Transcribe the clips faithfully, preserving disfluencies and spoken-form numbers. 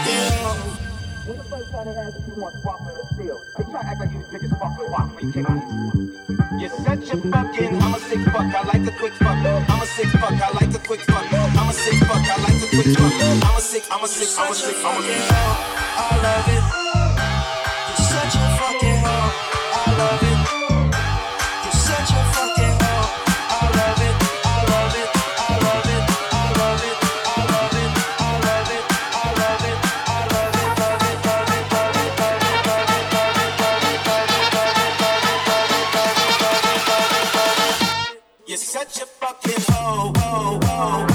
When the first time they asked if you want sparkling or still, they try to act like you was drinking sparkling water when you came out here. You're such a fucking, I'm a sick fuck, I like a quick fuck. I'm a sick fuck, I like a quick fuck. I'm a sick fuck, I like a quick fuck. I'm a sick, I'm a sick, I'm a sick, I'm a sick. I love it. You're such a fucking hoe. I love it. You're such a fucking hoe. I love it. I love it. I love it. I love it. I love it. I love it. I love it. I love it. Love it. Love it. Love it. Love it. Love it. Love it. Love it. Love it. Love it. Love it. Love it. Love it. Love it. Love it. You're such a fucking hoe. Hoe. Hoe.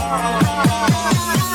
Hoe.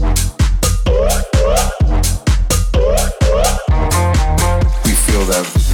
Feel that.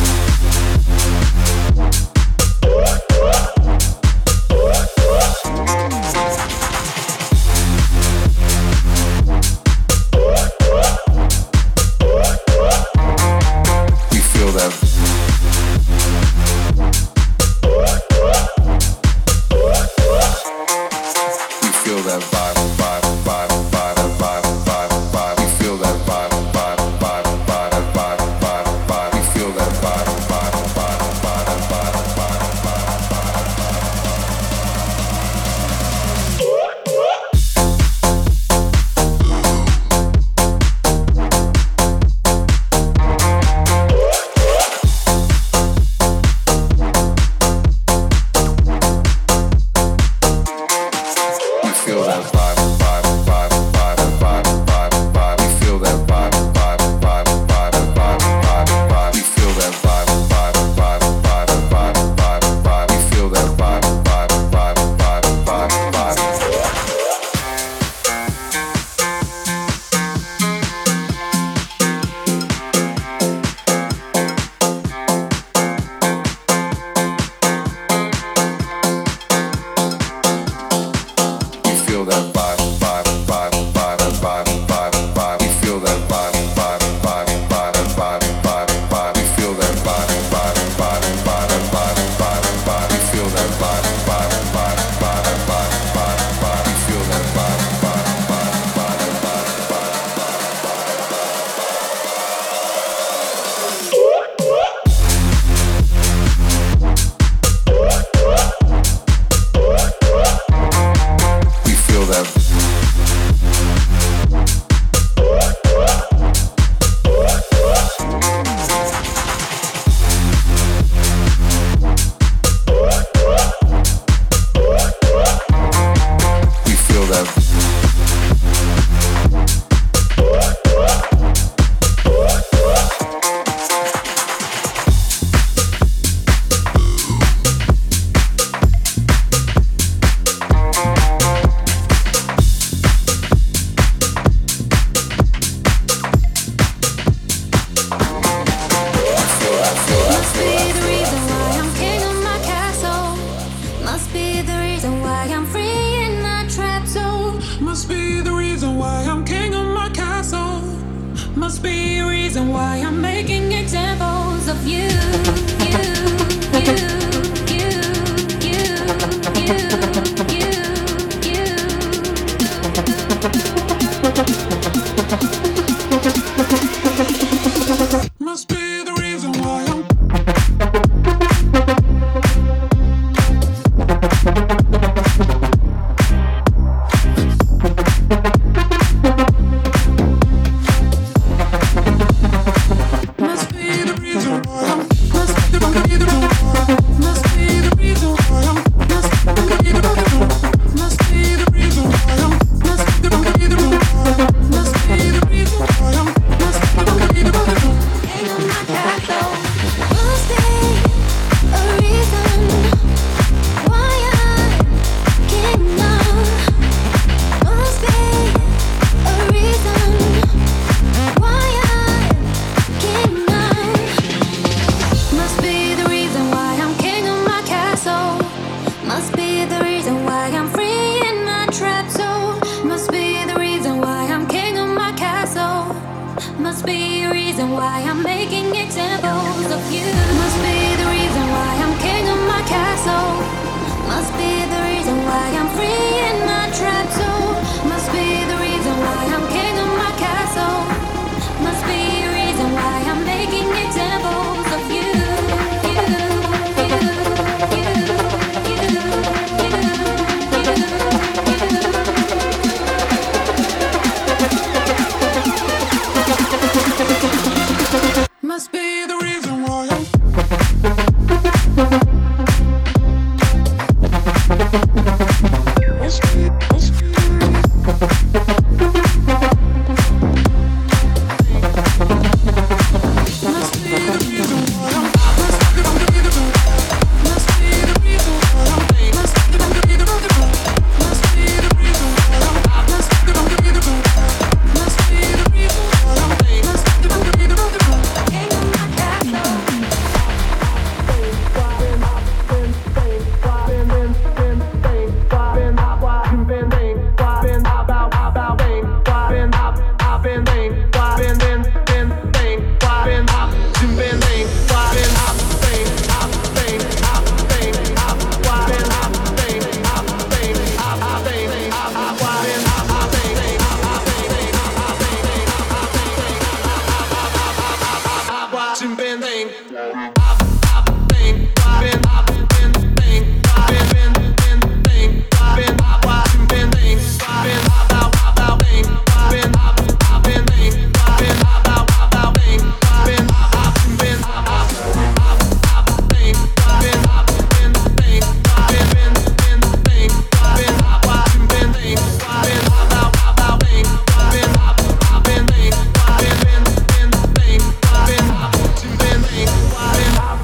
I've been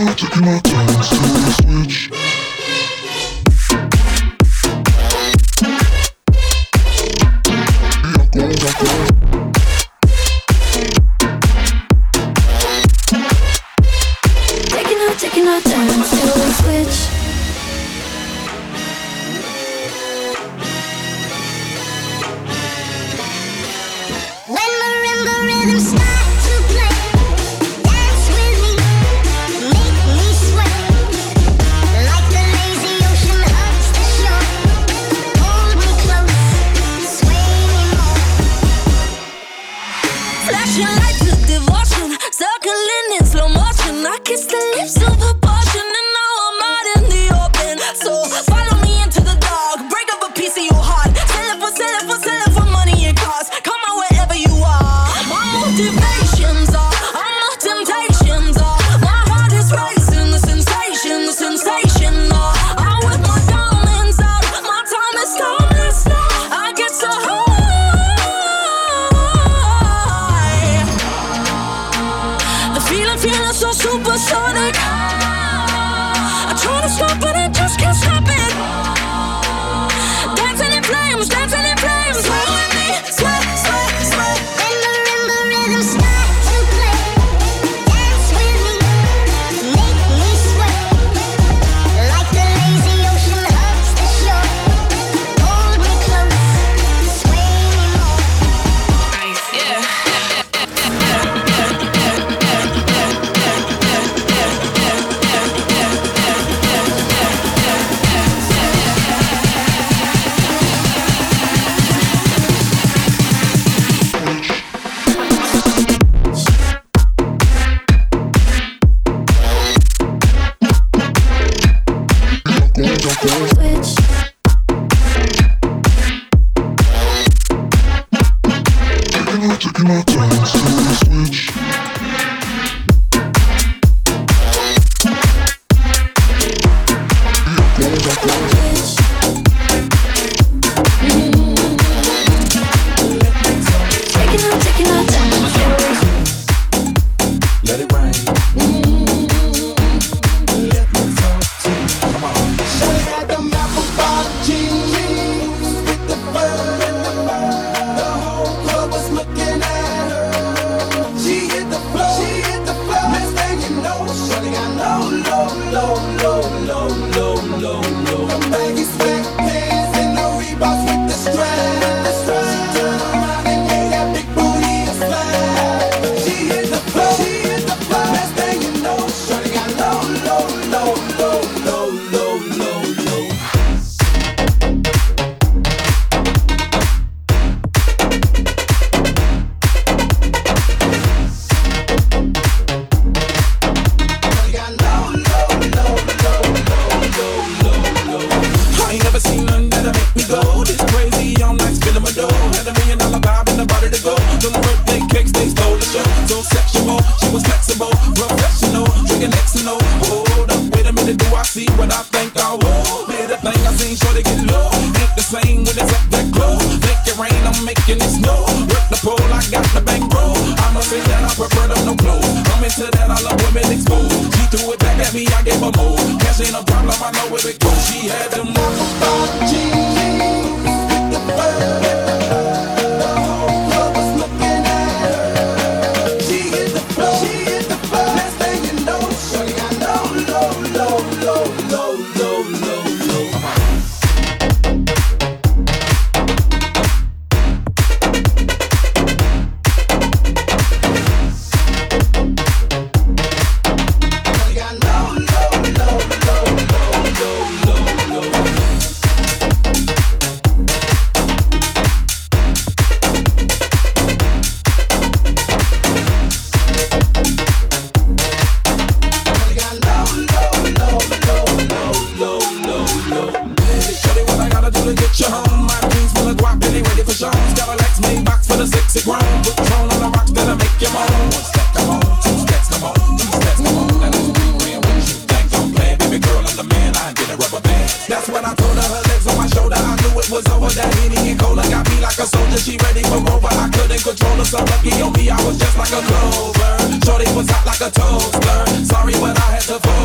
Shorty was hot like a toaster. Sorry, but I had to fold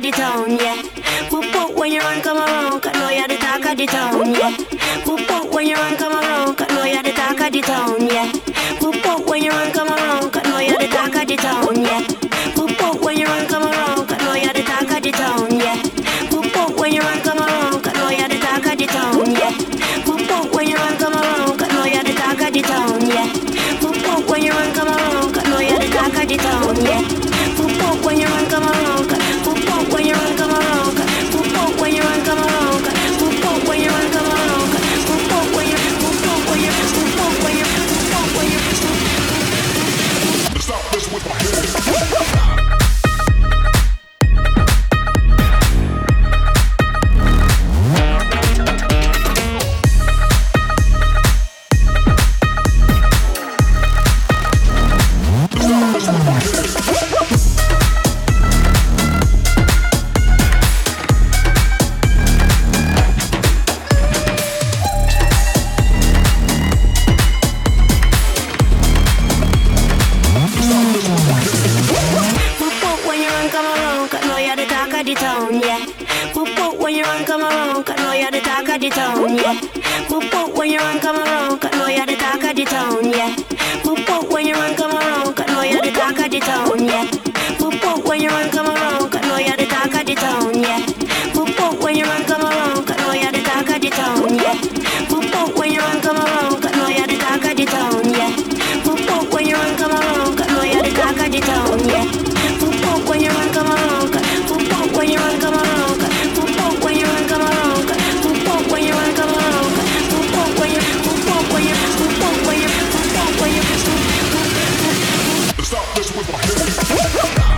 the town, yeah. Whoop whoop when you run come around, cause know you're the talk of the town, yeah. Whoop whoop when you run come around, cause know you're the talk of the town, yeah. Whoop whoop when you run come around, cause know you're the talk of the town, yeah. Whoop whoop when you run come around, cause know you're the talk of the town, yeah. Whoop whoop when you run come around, cause know you're the talk of the town, yeah. Whoop whoop when you run come around, cause know you're the talk of the town, yeah. Whoop whoop when you run come around, cause know you're the talk of the town, yeah. Whoop whoop when you run come around, whoop whoop when you run come around, whoop whoop when you run come around, whoop whoop when you run come around, whoop whoop when you whoop whoop when you whoop whoop when you whoop whoop when you. Stop this with my hands. The town, yeah. Whoop whoop when you run come around, cause know you're the talk of the town, yeah. Whoop whoop when you run come around, cause know you're the talk of the town, yeah. Whoop whoop when you run come around, cause know you're the talk of the town, yeah. Whoop whoop when you run come around, cause know you're the talk of the town, yeah. Whoop whoop when you run come around, cause know you're the talk of the town, yeah. Whoop whoop when you run come around, cause know you're the talk of the town, yeah. Whoop whoop when you run come around, whoop whoop when you run come around, whoop whoop when you run come around, when you run come around, whoop whoop when you whoop whoop when you whoop whoop when you whoop whoop when you stop this with my hands.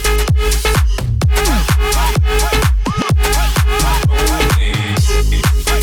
Hey.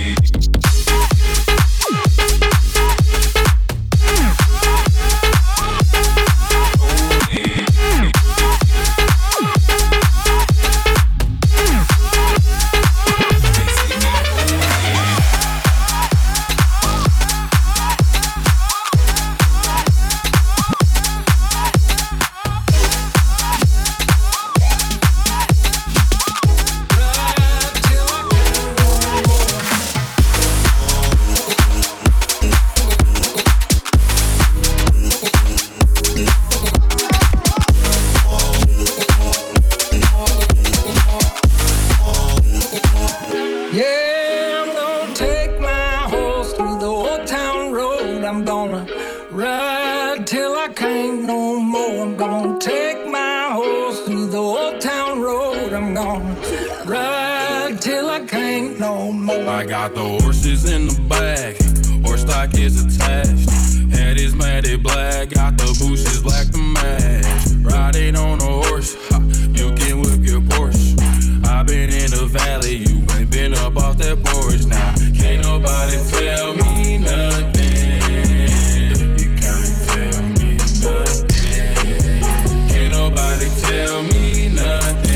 I got the horses in the back, horse stock is attached. Head is matted black, got the bushes black to match. Riding on a horse, ha, you can whip your Porsche. I been in the valley, you ain't been up off that porch. Now, can't nobody tell me nothing. You can't tell me nothing. Can't nobody tell me nothing.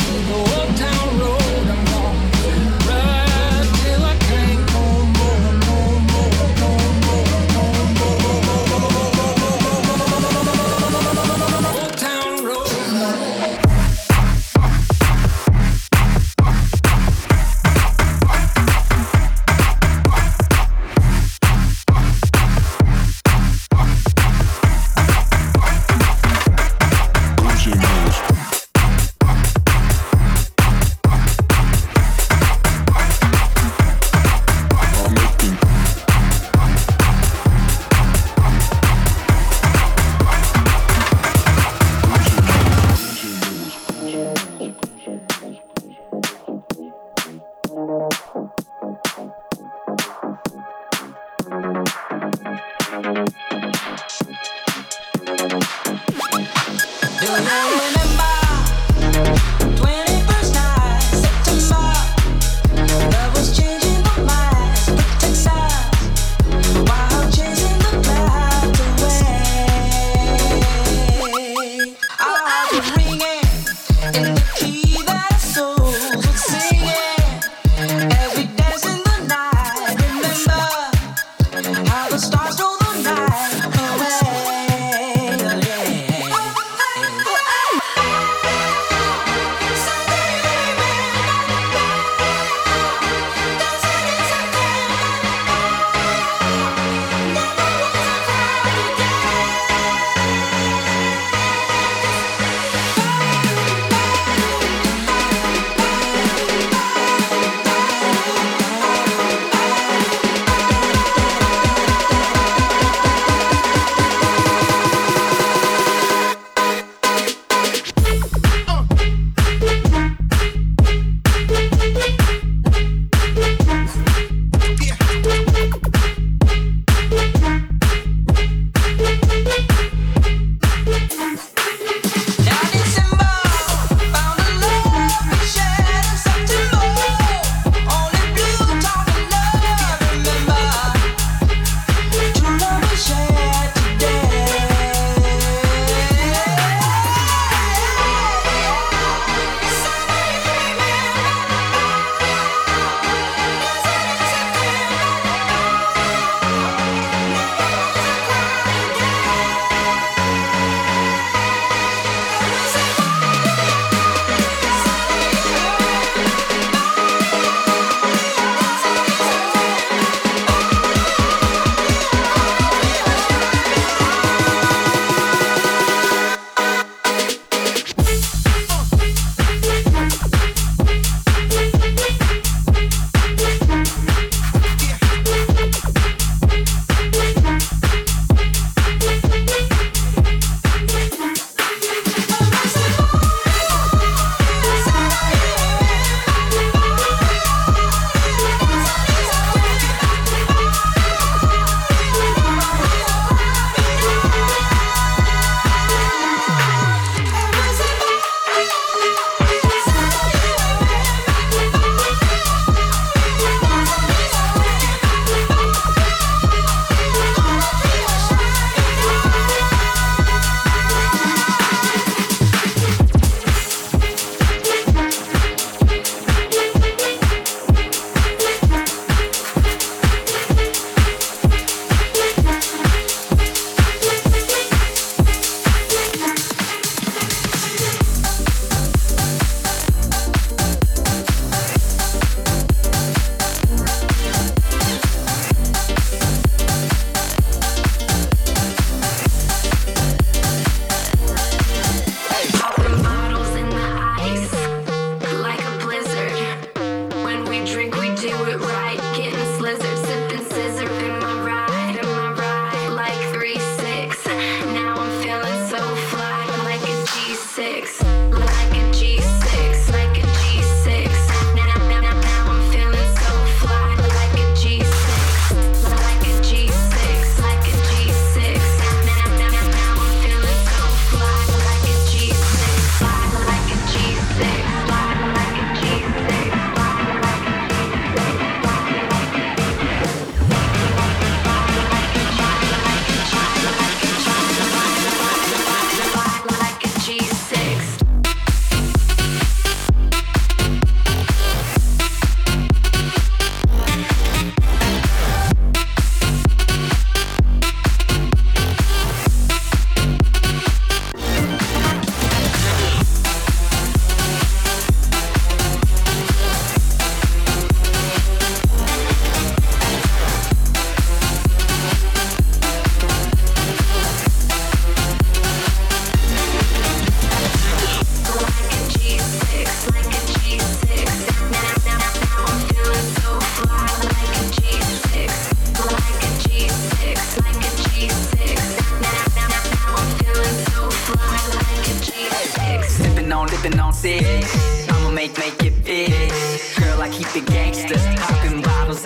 More.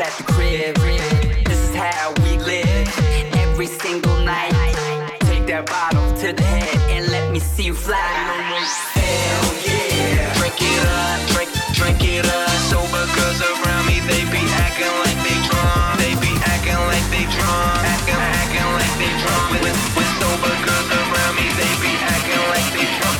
at the crib. This is how we live every single night. Take that bottle to the head and let me see you fly. Hell yeah. Drink it up, drink, drink it up. Sober girls around me, they be acting like they drunk. They be acting like they drunk. Acting, acting like they drunk. With, with sober girls around me, they be acting like they drunk.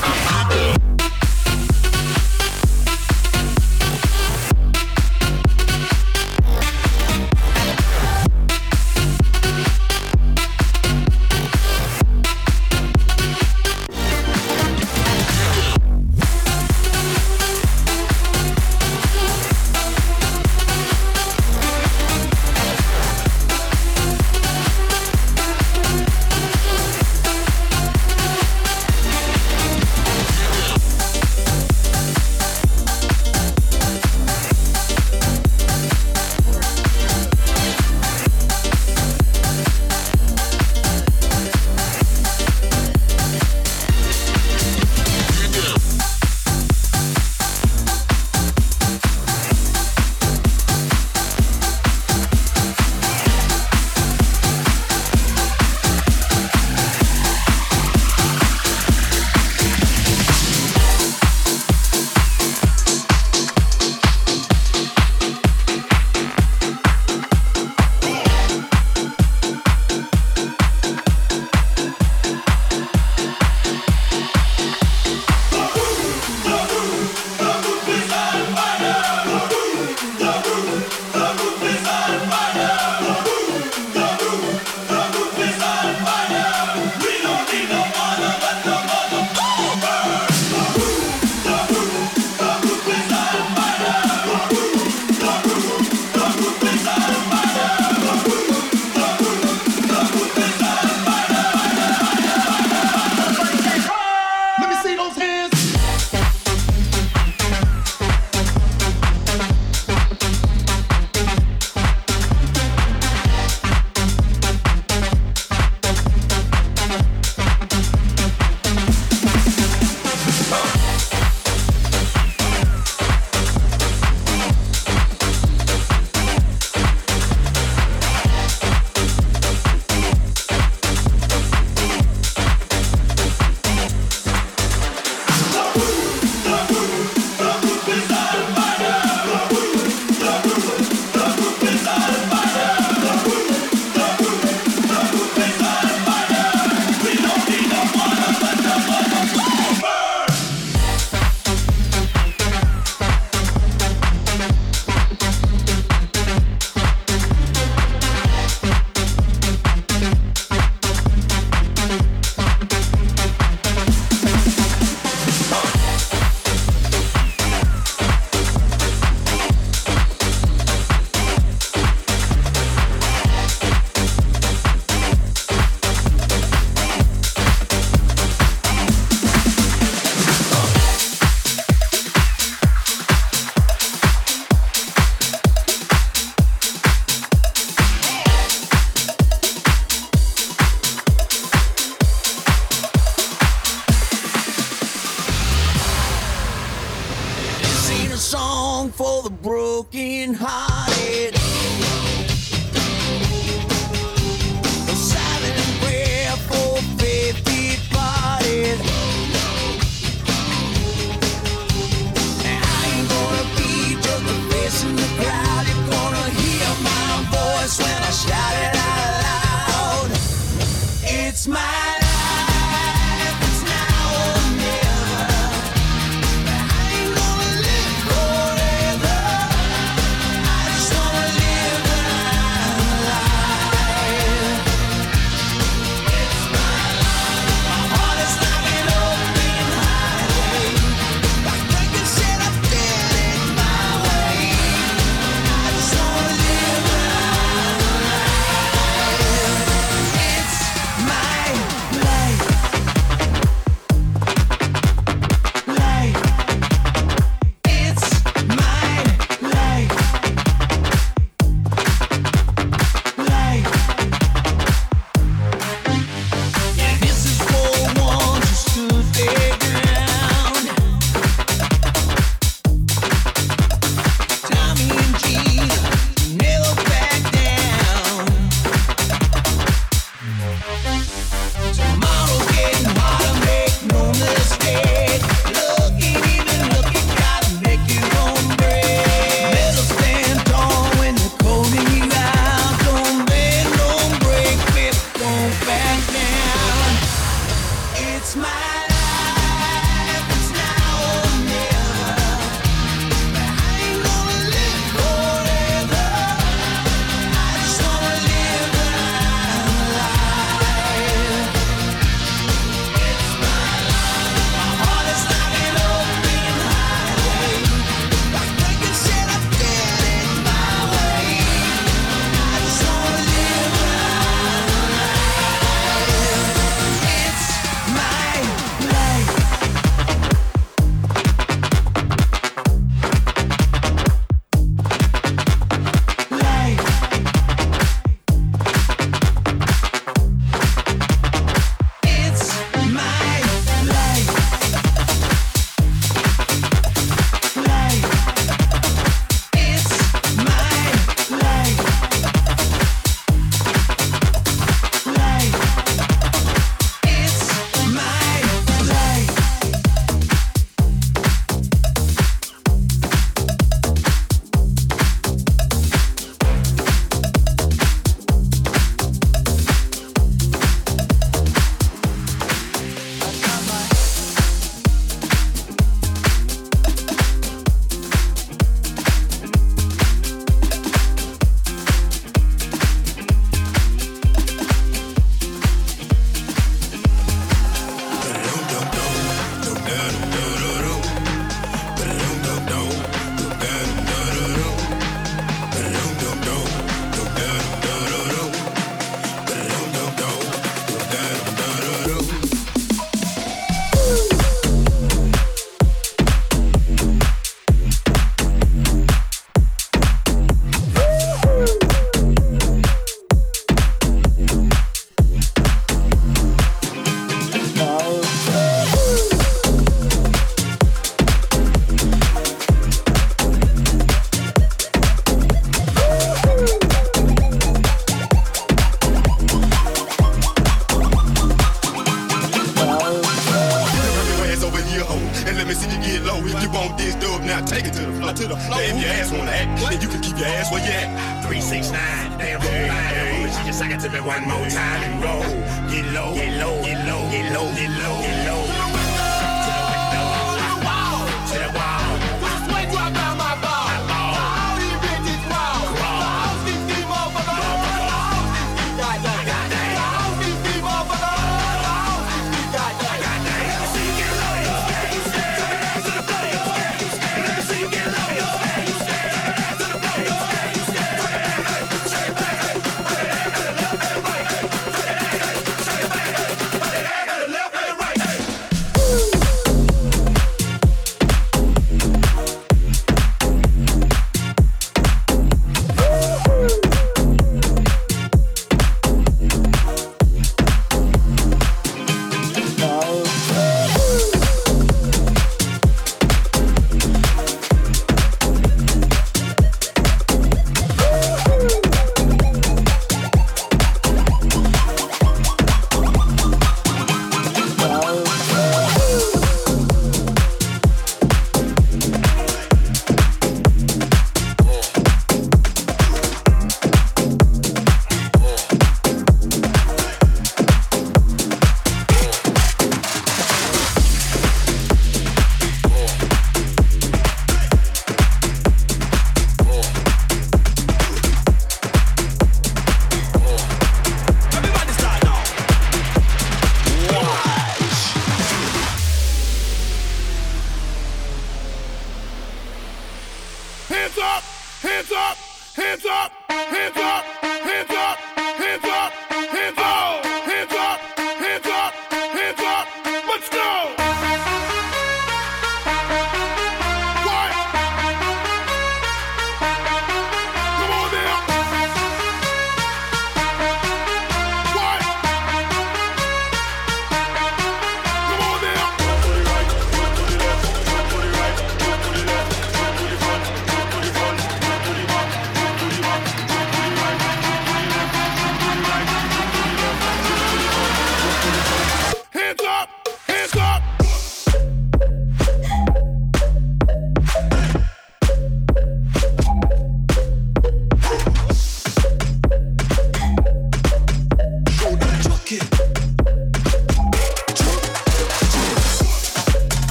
Take it to the floor, to the floor. If your ass wanna act, then you can keep your ass where you at. Three, six, nine, damn hey, hey. She just suck it to me one more time and roll. Get low, get low, get low, get low, get low, get low. To the window, to the wall, to the wall. This way drop down my ball. My ball. All these bitches raw. Raw. All these these motherfuckers. All these these goddamn. All these these motherfuckers. All these these goddamn. Goddamn. See you get low, you stay, you stay. To the floor, you stay, you stay. See you get low, you stay, you stay. To the floor, you stay, you stay.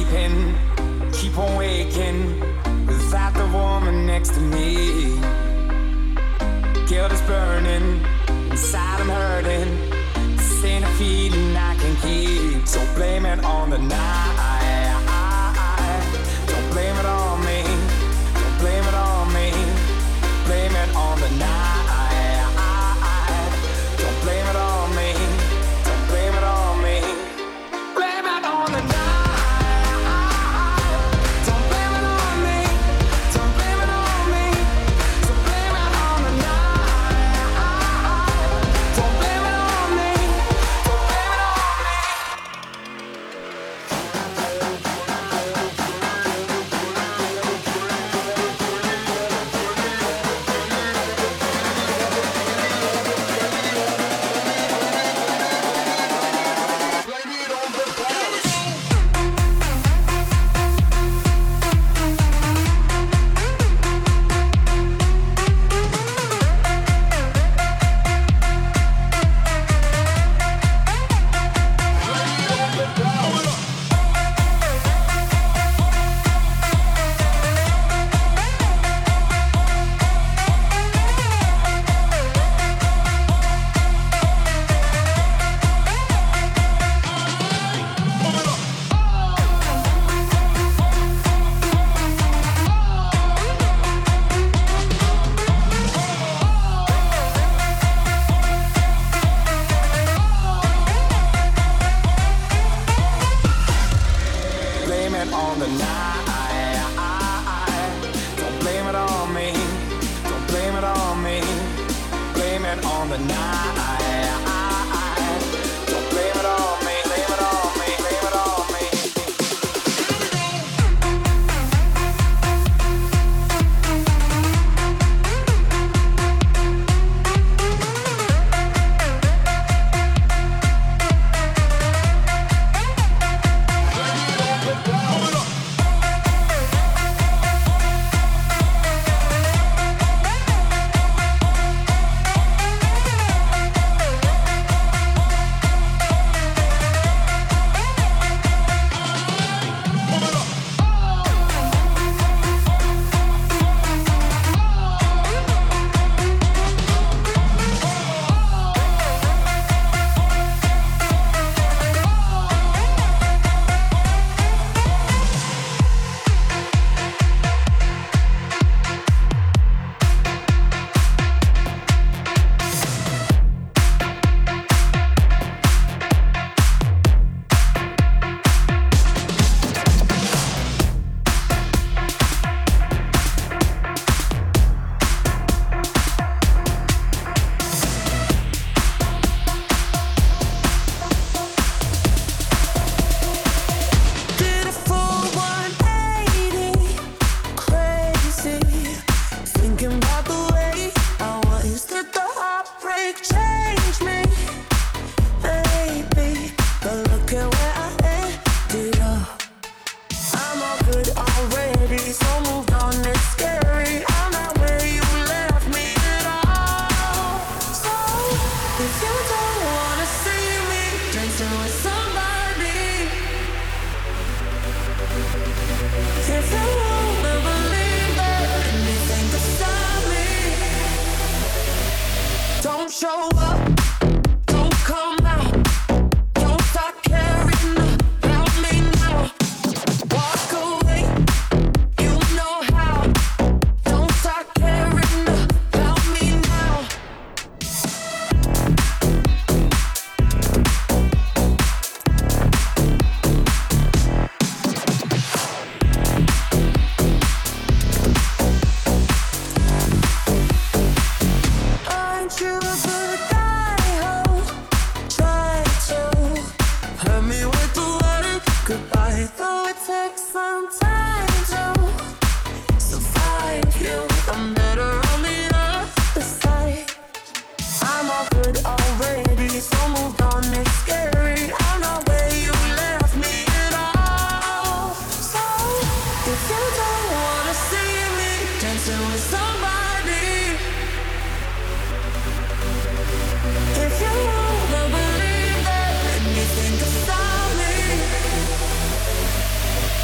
sleeping, keep on waking without the woman next to me. Guilt is burning, inside I'm hurting. This ain't a feeling I can keep, so blame it on the night. Don't blame it on me, don't blame it on me. Blame it on the night. Don't blame it on me, don't blame it on me. Blame it on the night.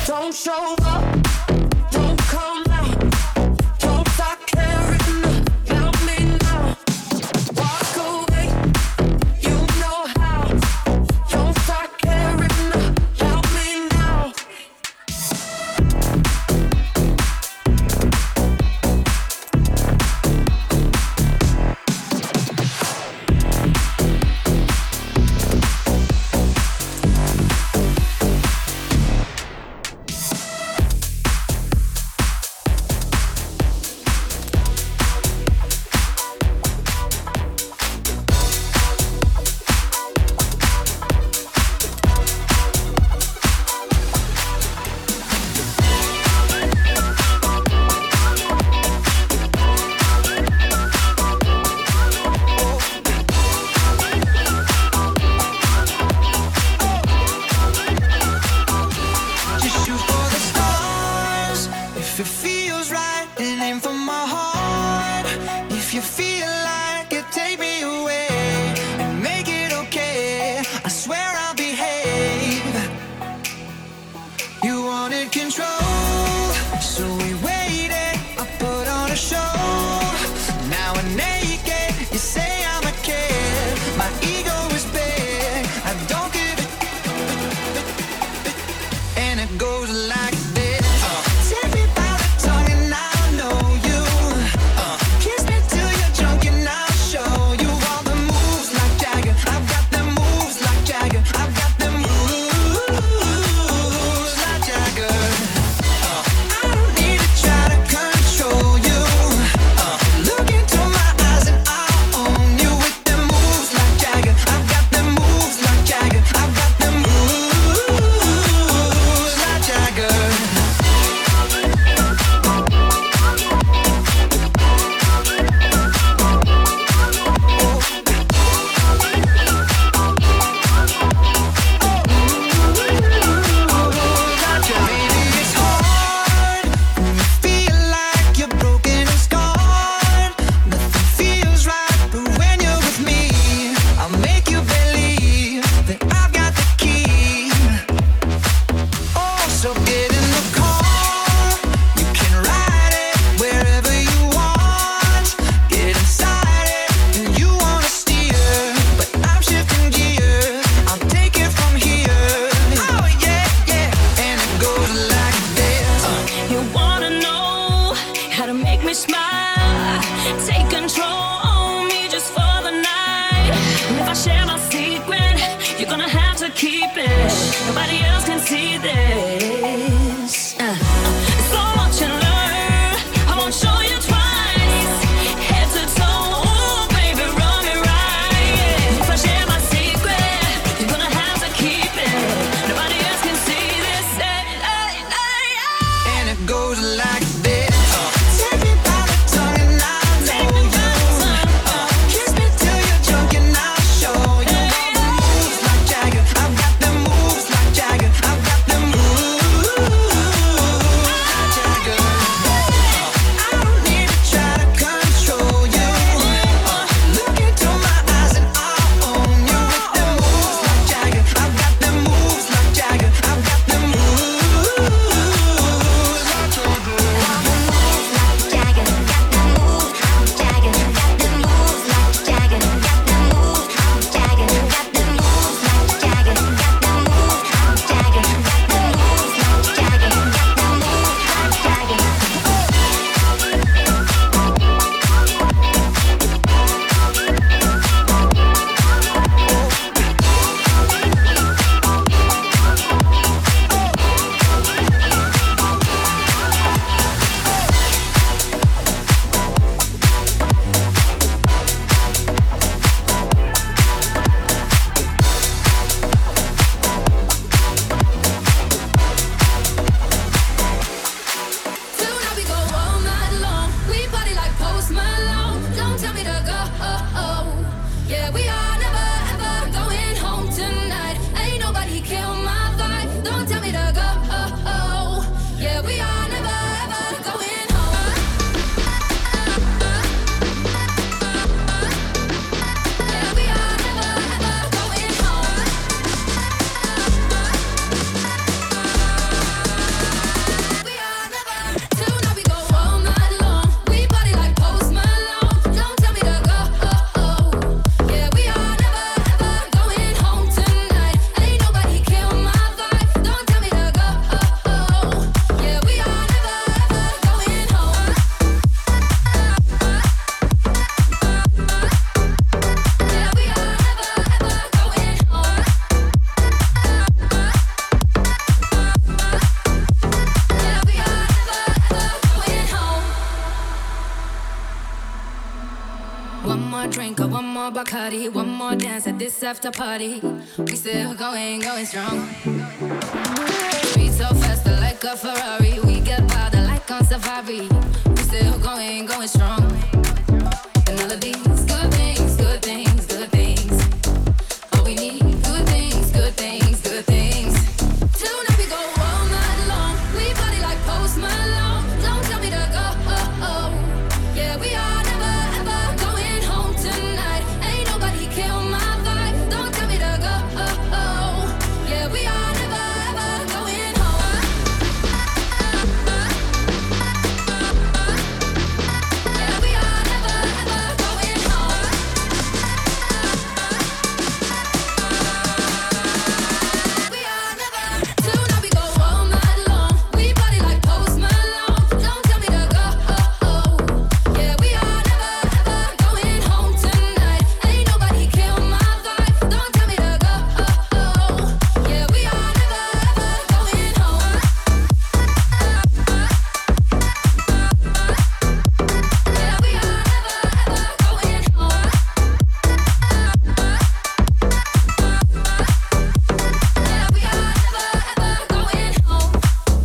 Don't show up, don't come out, don't start caring about me now. Walk away, you know how. Don't start caring about me now. Just shoot for the stars. If it feels right, then aim for my heart. If you feel like it, take me away and make it okay. I swear I'll behave. You wanted control, so we waited. I put on a show. Now I'm naked. You say I'm a kid. My ego is big. I don't give it. And it goes like this. Uh, take me by the tongue and I'll know you. Uh, kiss me till you're drunk and I'll show you all the moves like Jagger. I've got the moves like Jagger. I've got the moves like Jagger. Uh, I don't need to try to control you. Uh, look into my eyes and I'll own you with the moves like Jagger. I've got the moves like Jagger. I've got the moves like Jagger. Maybe it's hard when you feel like you're broken and scarred. Nothing feels right, but when you're with me, I'll make you believe that I've got the key. Oh, so get in the car. You can ride it wherever you want. Get inside it, and you wanna steer, but I'm shifting gears. I'll take it from here. Oh yeah, yeah, and it goes like this. You wanna know how to make me smile? Take control on me just for the night. And if I share my secret, you're gonna have to keep it. Nobody else can see this. Uh, so much to learn. I won't show you twice. Head to toe, ooh, baby, run me right. If I share my secret, you're gonna have to keep it. Nobody else can see this. Hey, hey, hey, hey. And it goes like this. Take me by the tongue and I'll know you. Uh, kiss me till you're drunk and I'll show you all the moves like Jagger. I've got the moves like Jagger. drink or one more Bacardi, one more dance at this after party. We still going, going strong. Speed so faster like a Ferrari. We get powder like on safari. We still going, going strong. And all of these good things, good things, good things. All we need, good things, good things, good things. Tonight we go all night long. We party like Post Malone. Don't tell me to go. Oh, oh. Yeah, we are never ever going home tonight. Ain't nobody kill my vibe. Don't tell me to go. Oh, oh. Yeah, we are never ever going home. Yeah, we are never ever going home. We are never. Tonight we go all night long. We party like Post Malone. Don't tell me to go. Oh, oh. Yeah, we are never ever going home tonight. Ain't nobody kill my vibe. Don't tell me to go. Oh, oh. Yeah, we are never ever going home. Yeah, we are never ever going home. Yeah, we are never ever going home.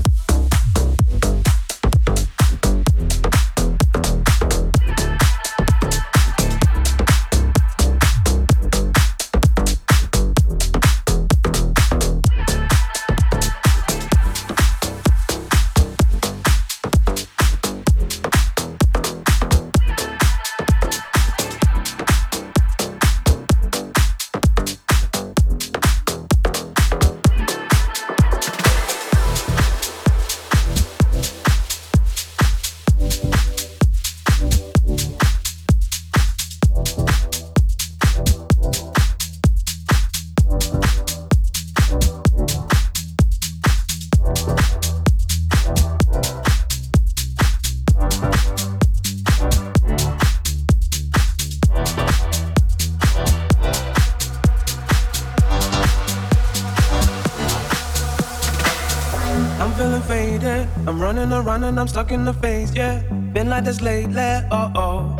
I'm feeling faded. I'm running around and I'm stuck in the phase, yeah. Been like this lately, oh oh.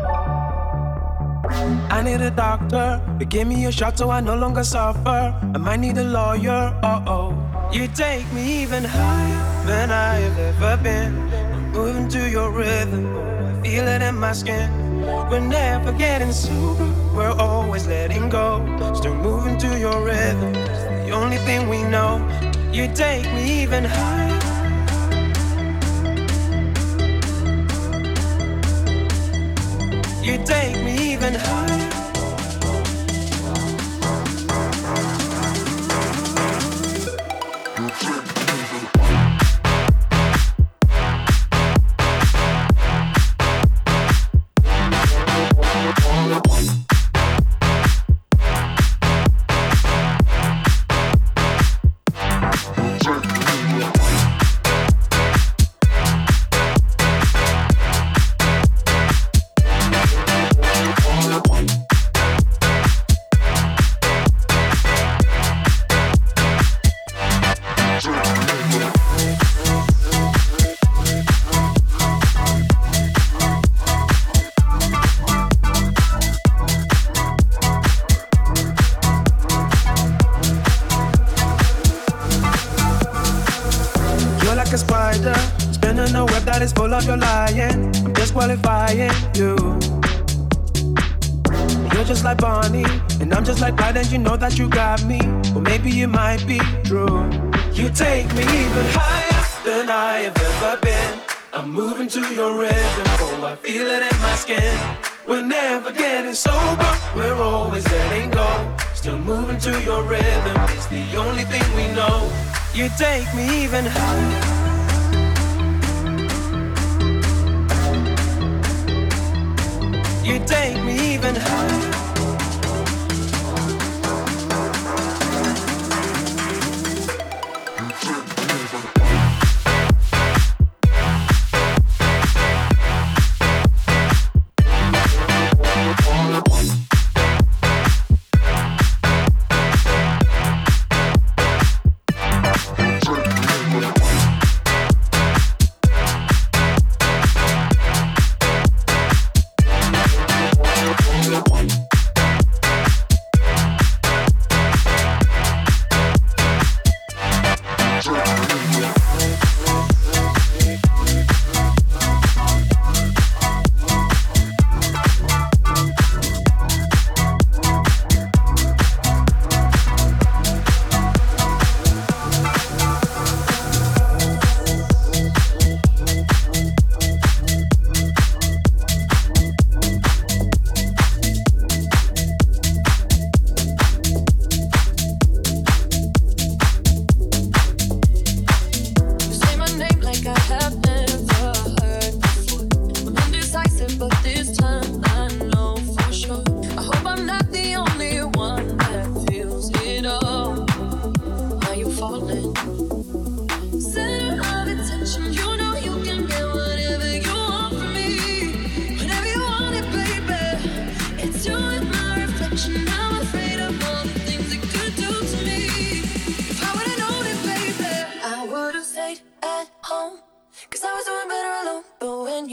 I need a doctor to give me a shot so I no longer suffer. I might need a lawyer, oh oh. You take me even higher than I have ever been. I'm moving to your rhythm, I feel it in my skin. We're never getting sober, we're always letting go. Still moving to your rhythm, it's the only thing we know. You take me even higher. You take me even higher. A spider spinning a web that is full of your lying. I'm disqualifying you. You're just like Bonnie, and I'm just like Clyde, and you know that you got me. Well, maybe it might be true. You take me even higher than I have ever been. I'm moving to your rhythm, oh, I feel it in my skin. We're never getting sober, we're always letting go. Still moving to your rhythm, it's the only thing we know. You take me even higher. You take me even higher.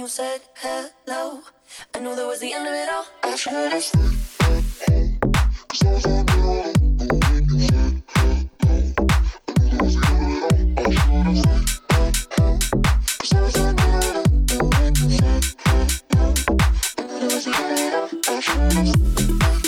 you said hello, I knew that was the end of it all. I should have I